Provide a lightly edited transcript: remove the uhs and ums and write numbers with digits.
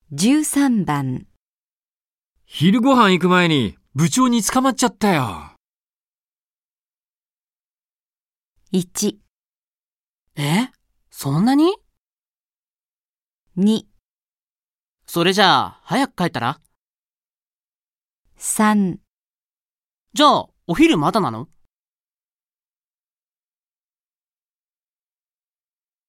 13番。 昼ご飯行く前に部長に捕まっちゃったよ。 1、 そんなに？ 2、 それじゃあ、早く帰ったら？ 3。 じゃあ、お昼まだなの？